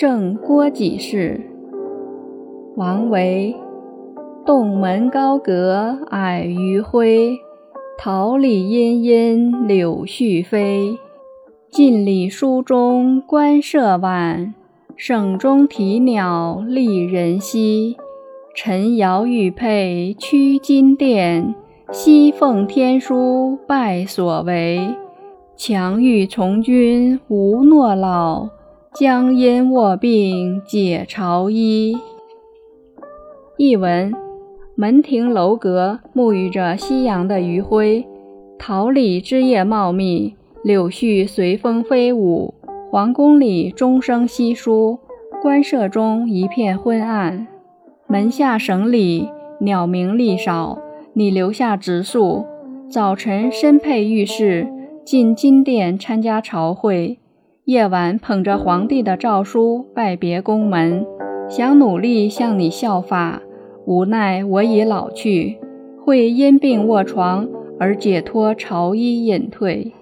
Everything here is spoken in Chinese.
正郭几世。王维。洞门高阁矮余晖，桃李阴阴柳絮飞。近里书中官舍晚，省中啼鸟丽人稀。陈瑶玉佩驱金殿，西奉天书拜所为。强欲从军无诺老，将因卧病解朝衣。译文：门庭楼阁沐浴着夕阳的余晖，桃李枝叶茂密，柳絮随风飞舞，皇宫里钟声稀疏，官舍中一片昏暗。门下省里鸟鸣粒少，你留下直宿，早晨身佩御饰，进金殿参加朝会，夜晚捧着皇帝的诏书拜别宫门，想努力向你效法，无奈我已老去，会因病卧床而解脱朝衣隐退。